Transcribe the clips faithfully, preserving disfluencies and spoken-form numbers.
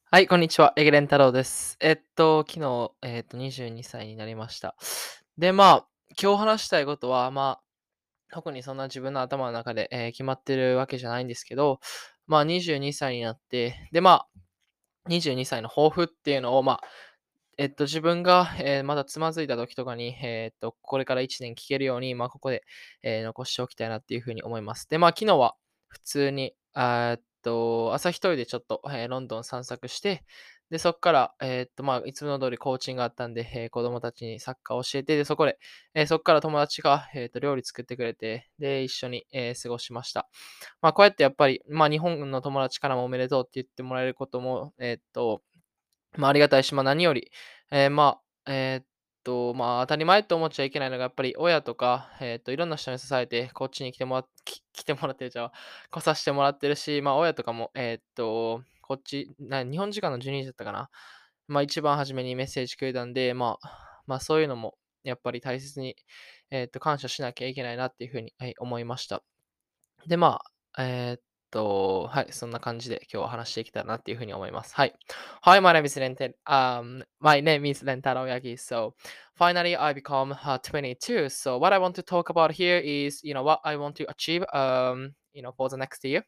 はい、こんにちは。エゲレン太郎です。えっと、昨日、えっと、にじゅうにさいになりました。で、まあ、今日話したいことは、まあ、特にそんな自分の頭の中で、えー決まってるわけじゃないんですけど、まあ、にじゅうにさいになって、で、まあ、にじゅうにさいの抱負っていうのを、まあ、えっと、自分が、えーまだつまずいた時とかに、えっと、これからいちねん聞けるように、まあ、ここで、えー残しておきたいなっていうふうに思います。で、まあ、昨日は普通に、あーえっと、朝一人でちょっと、えーロンドン散策して、で、そこから、えっと、まあ、いつもの通りコーチングがあったんで、えー子供たちにサッカーを教えて、で、そこで、えーそこから友達が、えっと、料理作ってくれて、で、一緒に、えー過ごしました。まあ、こうやってやっぱり、まあ、日本の友達からもおめでとうって言ってもらえることも、えっと、まあ、ありがたいし、まあ、何より、えーまあ、えーっと、まあ、当たり前と思っちゃいけないのが、やっぱり親とか、えーっと、いろんな人に支えて、こっちに来てもらっき来てもらってるじゃん、来させてもらってるし、まあ、親とかも、えーっと、こっち、な日本時間のじゅうにじだったかな。まあ、一番初めにメッセージくれたんで、まあ、まあ、そういうのも、やっぱり大切に、えーっと、感謝しなきゃいけないなっていうふうに、はい、思いました。で、まあ、えーっと、はい、そんな感じで今日は話していけたらなっていうふうに思います。はい。Hi, my name is Rente, um, my name is Rentaro Yagi. So, finally, I become uh, twenty-two. So, what I want to talk about here is, you know, what I want to achieve, um, you know, for the next year.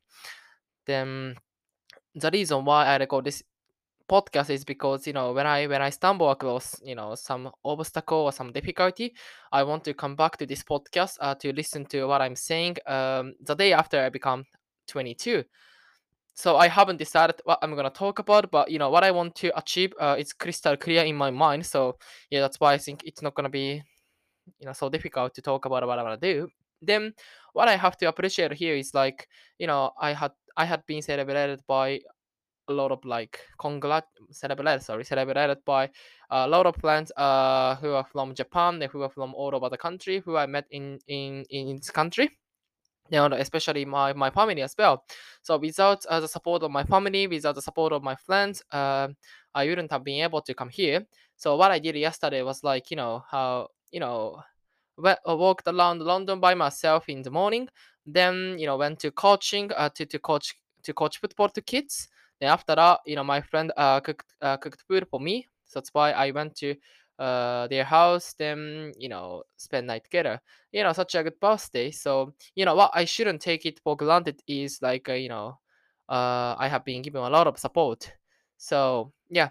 Then, the reason why I record this podcast is because you know when I when I stumble across you know some obstacle or some difficulty, I want to come back to this podcast uh, to listen to what I'm saying um, the day after I become twenty-two. So I haven't decided what I'm gonna talk about, but you know what I want to achieve uh, is crystal clear in my mind. So yeah, that's why I think it's not gonna be you know so difficult to talk about what I wanna do. Then what I have to appreciate here is like you know I had I had been celebrated by a lot of like congrat celebrated sorry celebrated by a lot of friends uh who are from Japan, who are from all over the country, who I met in in in this country, you know, especially my my family as well. So without uh, the support of my family, without the support of my friends, uh, I wouldn't have been able to come here. So what I did yesterday was like you know how you know we- uh, walked around London by myself in the morning. Then you know went to coaching uh, to to coach to coach football to kids. Then after that, you know my friend uh, cooked uh, cooked food for me. So that's why I went to uh, their house. Then you know spend night together. You know such a good birthday. So you know what I shouldn't take it for granted is like uh, you know uh, I have been given a lot of support. So yeah,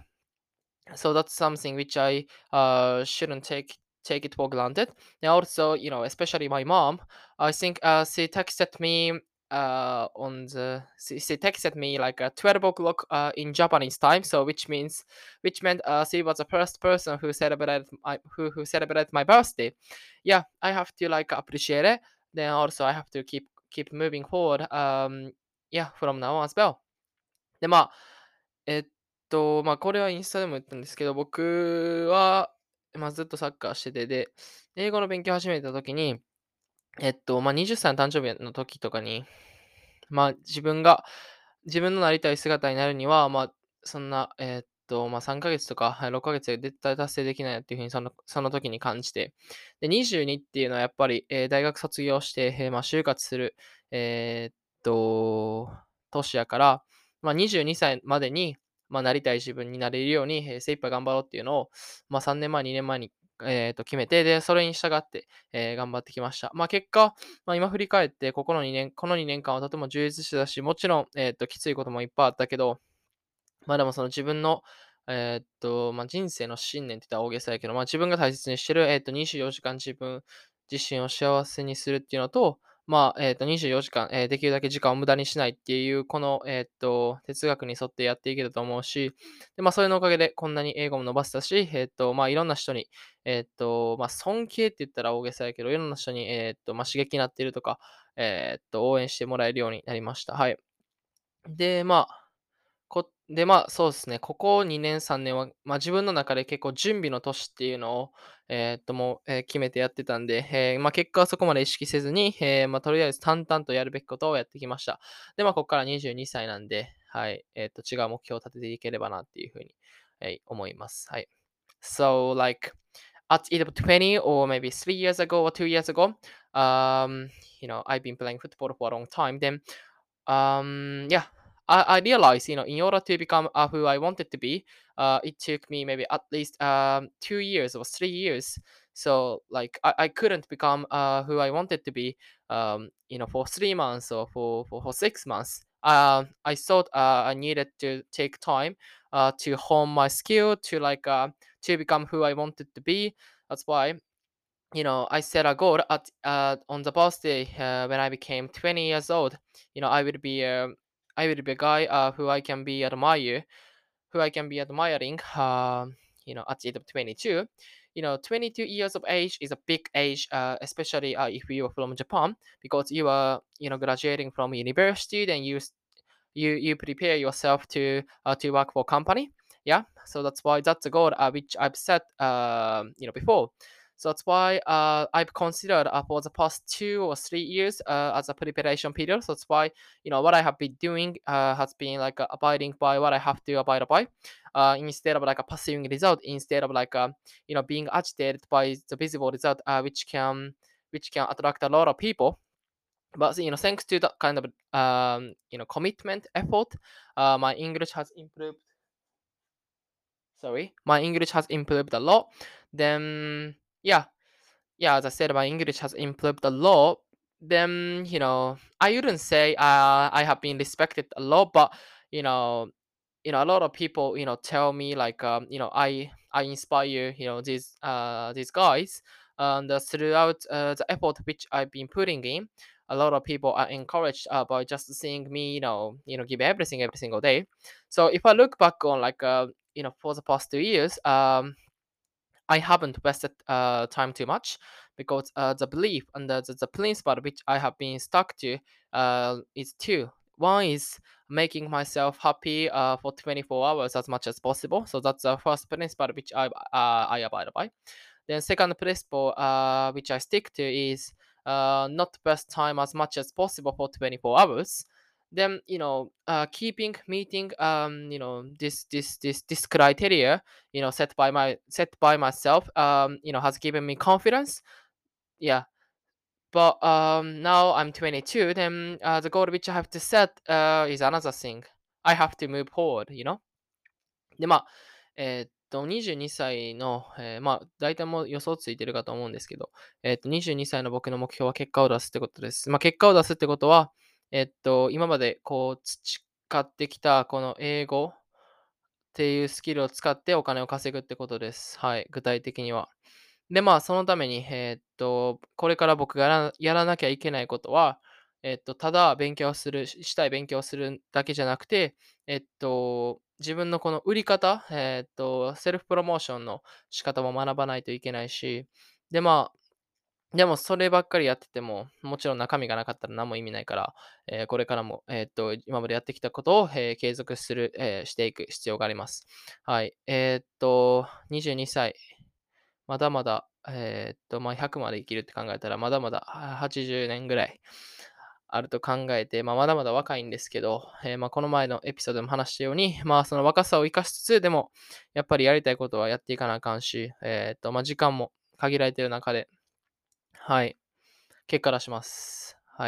so that's something which I uh, shouldn't take take it for granted. And also, you know, especially my mom, I think uh, she texted me uh, on the she, she texted me like at twelve o'clock uh, in Japanese time. So which means which meant uh, she was the first person who celebrated my who who celebrated my birthday. Yeah, I have to like appreciate it. Then also I have to keep keep moving forward. Um, yeah, from now on as well. で、まあ、えっと、まあ、これはインスタでも言ったんですけど、僕は、まあ、ずっとサッカーしてて、で、英語の勉強を始めた時に、えっと、まあ、はたちの誕生日の時とかに、まあ、自分が自分のなりたい姿になるには、まあ、そんな、えっと、まあ、さんかげつとか、はい、ろっかげつで絶対達成できないなっていう風にそのその時に感じて。で、にじゅうにっていうのはやっぱり、え、大学卒業して、え、まあ、就活する、えーっと、年やから、まあ、にじゅうにさいまでに、まあ、なりたい自分になれるように、え、精一杯頑張ろうっていうのを、まあ、さんねんまえ、にねんまえに、えっと、決めて、で、それに従って、え、頑張ってきました。まあ、結果、まあ、今振り返って、ここのにねんこのにねんかんはとても充実してたし、もちろん、えっと、きついこともいっぱいあったけど、まあ、でもその自分の、えーっと、まあ、人生の信念って言ったら大げさやけど、まあ、自分が大切にしてる、えーっと、にじゅうよじかん自分自身を幸せにするっていうのと、まあ、えーっと、にじゅうよじかん、えーできるだけ時間を無駄にしないっていう、この、えーっと、哲学に沿ってやっていけたと思うし、で、まあ、それのおかげでこんなに英語も伸ばせたし、えーっと、まあ、いろんな人に、えーっと、まあ、尊敬って言ったら大げさやけど、いろんな人に、えーっと、まあ、刺激になっているとか、えーっと、応援してもらえるようになりました。はい。で、まあこで、まあ、そうですね、ここにねん、さんねんは、まあ、自分の中で結構準備の年っていうのを、えーっと、もう、え、決めてやってたんで、ええ、まあ、結果はそこまで意識せずに、ええ、まあ、とりあえず淡々とやるべきことをやってきました。で、まあ、ここからにじゅうにさいなんで、はい、えーっと、違う目標を立てていければなっていう風に、はい、思います。はい。So, like, at either twenty or maybe three years ago or two years ago, um, you know, I've been playing football for a long time. Then, um, yeah, I, I realized, you know, in order to become uh, who I wanted to be, uh, it took me maybe at least um, two years or three years. So like I, I couldn't become uh, who I wanted to be, um, you know, for three months or for, for, for six months. Uh, I thought uh, I needed to take time uh, to hone my skill to like uh, to become who I wanted to be. That's why, you know, I set a goal at uh, on the birthday uh, when I became twenty years old. You know, I will be um, I will be a guy uh, who I can be admire, who I can be admiring. Uh, you know, at the age of twenty-two. You know, twenty-two years of age is a big age, uh, especially uh, if you are from Japan, because you are, you know, graduating from university, then you you you prepare yourself to uh, to work for company. Yeah, so that's why that's a goal uh, which I've set um, you know before. So that's why uh, I've considered uh, for the past two or three years uh, as a preparation period. So that's why, you know, what I have been doing uh, has been like uh, abiding by what I have to abide by, uh, instead of like a pursuing result, instead of like uh, you know being agitated by the visible result, uh, which can which can attract a lot of people. But you know, thanks to that kind of um, you know commitment effort, uh, my English has improved. Sorry, my English has improved a lot. Then yeah, yeah, as I said, my English has improved a lot. Then you know, I wouldn't say uh, I have been respected a lot, but you know, you know, a lot of people, you know, tell me like, um, you know, I I inspire, you know, these uh these guys, and uh, throughout uh, the effort which I've been putting in, a lot of people are encouraged uh, by just seeing me, you know, you know, give everything every single day. So if I look back on like, uh, you know, for the past two years, um, I haven't wasted uh, time too much because uh, the belief and the, the, the principle which I have been stuck to uh, is two. One is making myself happy uh, for twenty-four hours as much as possible. So that's the first principle which I, uh, I abide by. Then second principle uh, which I stick to is uh, not waste time as much as possible for twenty-four hours. Then you know uh, keeping meeting um, you know this this this this criteria, you know set by my set by myself, um, you know has given me confidence. Yeah, but um, now I'm twenty-two. Then uh, the goal which I have to set uh, is another thing. I have to move forward. You know. で、まあ、えーっと、にじゅうにさいの、えーまあ、大体もう予想ついてるかと思うんですけど、えーっと、にじゅうにさいの僕の目標は結果を出すってことです。まあ、結果を出すってことは、えーっと、今までこう培ってきたこの英語っていうスキルを使ってお金を稼ぐってことです。はい、具体的には。で、まあ、そのために、えーっと、これから僕がやらやらなきゃいけないことは、えーっと、ただ勉強する、ししたい勉強をするだけじゃなくて、えっと、自分のこの売り方、えーっと、セルフプロモーションの仕方も学ばないといけないし、で、まあ、でもそればっかりやってても、もちろん中身がなかったら何も意味ないから、えーこれからも、えーっと、今までやってきたことを、えー継続する、えーしていく必要があります。はい。えーっと、にじゅうにさい、まだまだ、えーっと、まあ、ひゃくまで生きるって考えたら、まだまだあはちじゅうねんぐらいあると考えて、まあ、まだまだ若いんですけど、えーまあ、この前のエピソードでも話したように、まあ、その若さを生かしつつ、でも、やっぱりやりたいことはやっていかなあかんし、えーっと、まあ、時間も限られている中で、はい、結果出します。はい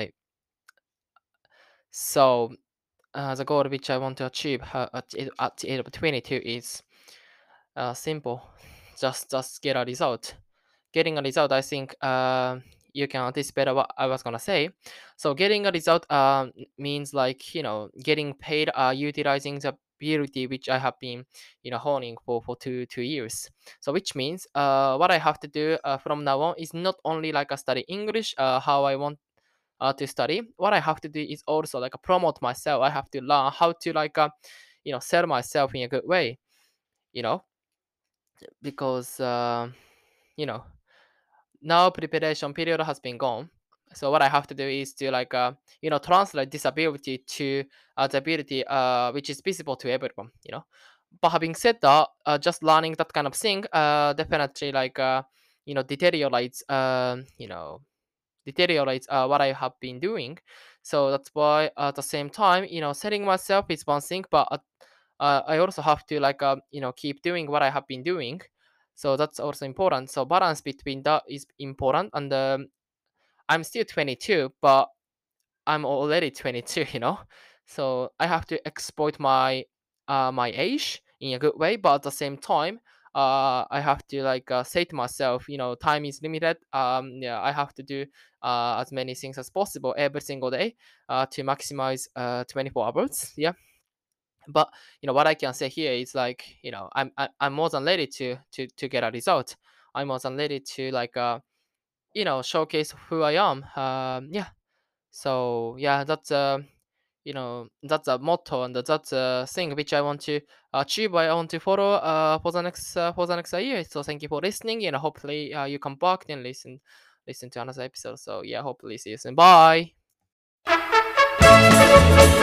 。So, uh, the goal which I want to achieve uh, at, the- at the age of twenty-two is uh, simple. Just just get a result. Getting a result, I think uh, you can anticipate what I was gonna say. So getting a result um, means like, you know getting paid, uh, utilizing the ability which I have been, you know honing for for two two years. So which means uh, what I have to do uh, from now on is not only like a study English, uh, how I want uh, to study. What I have to do is also like promote myself. I have to learn how to like uh, you know sell myself in a good way. You know because uh, you know now preparation period has been gone. So what I have to do is to like uh, you know translate this ability to uh, the ability uh, which is visible to everyone. You know, but having said that, uh, just learning that kind of thing uh, definitely like uh, you know deteriorates um, you know deteriorates uh, what I have been doing. So that's why at the same time, you know, setting myself is one thing, but uh, uh, I also have to like uh, you know keep doing what I have been doing. So that's also important. So balance between that is important. And um, I'm still twenty-two, but I'm already twenty-two. You know, So I have to exploit my uh, my age in a good way, but at the same time, uh, I have to like uh, say to myself, you know, time is limited. Um, yeah, I have to do uh, as many things as possible every single day uh, to maximize uh, twenty-four hours. Yeah, but you know what I can say here is like, you know, I'm I, I'm more than ready to to to get a result. I'm more than ready to like uh you know showcase who I am. Um, yeah, so yeah, that's uh, you know that's a motto and that's a thing which I want to achieve. I want to follow uh for the next uh, for the next year. So thank you for listening, and hopefully uh, you come back and listen listen to another episode. So yeah, hopefully see you soon. Bye.